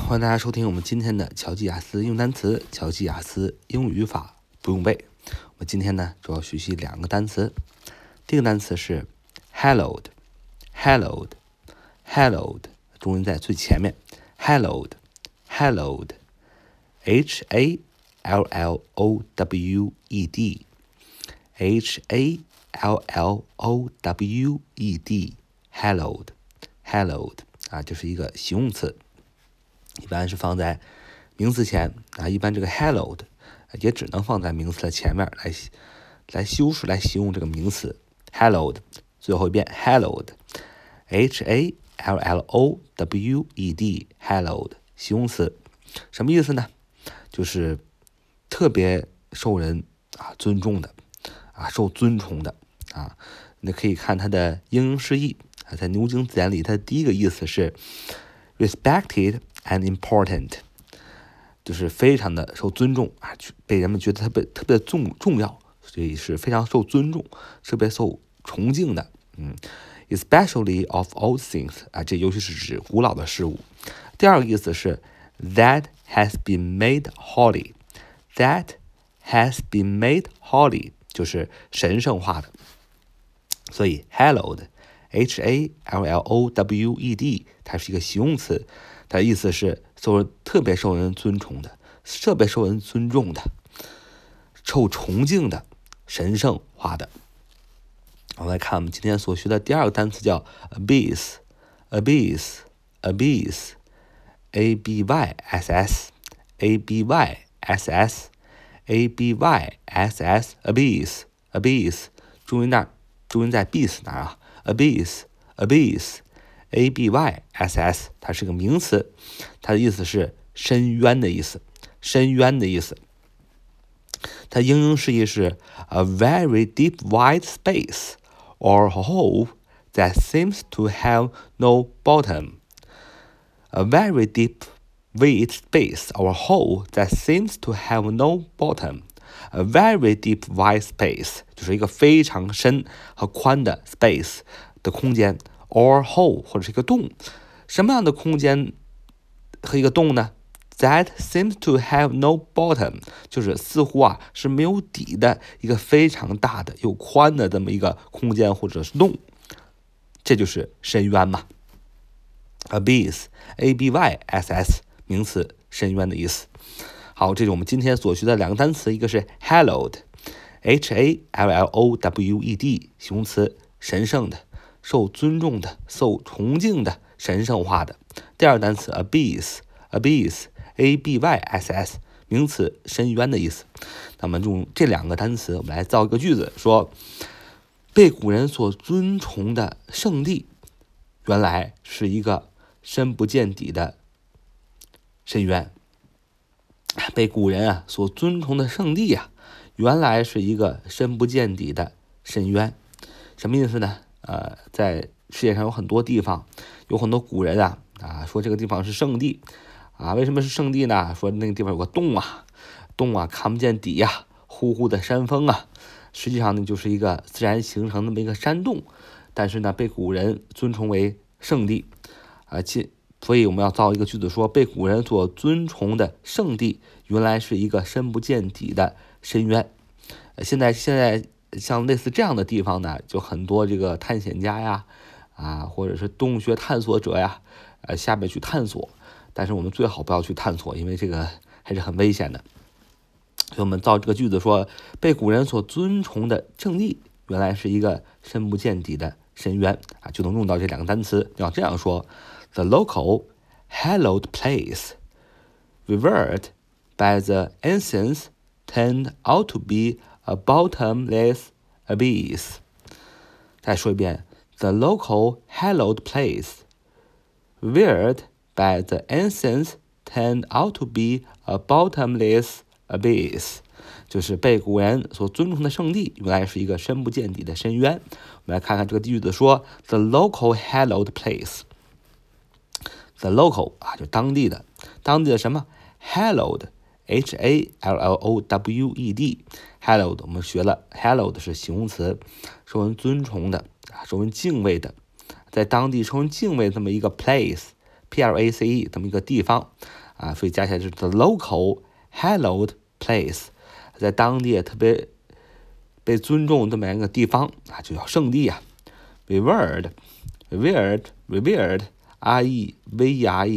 欢迎大家收听我们今天的乔记雅思用单词，乔记雅思英语语法不用背。我们今天呢主要学习两个单词，第一个单词是 hallowed， 中音在最前面 hallowed hallowed hallowed hallowed 这是一个形容词，一般是放在名词前一般这个 hallowed 也只能放在名词的前面来修饰来形容这个名词 hallowed。 最后一遍 hallowed hallowed 形容词，什么意思呢？就是特别受人尊重的受尊崇的你可以看它的英释义在牛津字典里，它的第一个意思是 respected and important， 就是非常的受尊重被人们觉得特别重要，所以是非常受尊重，特别受崇敬的。especially of old things 这尤其是指古老的事物。第二个意思是 that has been made holy， 就是神圣化的。所以 hallowed hallowed 它是一个形容词，它的意思是特别受人尊崇的，特别受人尊重的，受崇敬的，神圣化的。我们来看我们今天所学的第二个单词叫 abyss abyss abyss 注音在 bis 那儿abyss abyss 它是个名词，它的意思是深渊的意思。它英释义是 a very deep wide space or hole that seems to have no bottom。 A very deep wide space or hole that seems to have no bottom。 A very deep wide space 就是一个非常深和宽的 space 的空间 or hole 或者是一个洞。什么样的空间和一个洞呢？ That seems to have no bottom 就是似乎是没有底的一个非常大的又宽的这么一个空间或者是洞，这就是深渊嘛。 abyss abyss 名词，深渊的意思。好，这是我们今天所学的两个单词，一个是 hallowed hallowed 形容词，神圣的，受尊重的，受崇敬的，神圣化的。第二个单词 abyss abyss 名词，深渊的意思。那么用这两个单词我们来造一个句子，说被古人所尊崇的圣地原来是一个深不见底的深渊。被古人所尊崇的圣地原来是一个深不见底的深渊。什么意思呢？在世界上有很多地方，有很多古人说这个地方是圣地为什么是圣地呢？说那个地方有个洞看不见底呼呼的山峰实际上呢就是一个自然形成那么一个山洞，但是呢被古人尊崇为圣地所以我们要造一个句子说被古人所尊崇的圣地原来是一个深不见底的深渊。现在像类似这样的地方呢，就很多这个探险家或者是洞穴探索者下面去探索，但是我们最好不要去探索，因为这个还是很危险的。所以我们造这个句子说被古人所尊崇的圣地原来是一个深不见底的深渊就能用到这两个单词。要这样说 The local hallowed place revered by the ancients turned out to be a bottomless abyss。 再说一遍 The local hallowed place revered by the ancients turned out to be a bottomless abyss， 就是被古人所尊崇的圣地原来是一个深不见底的深渊。我们来看看这个句子说 The local hallowed place， The local 就当地的什么 hallowed hallowed 我们学了 hallowed 是形容词，受人尊崇的，受人敬畏的，在当地受人敬畏这么一个 place place 这么一个地方啊，所以加起来就是 the local hallowed place， 在当地特别被尊重这么一个地方啊，就叫圣地啊。revered，revered，revered，r-e-v-e-r-e，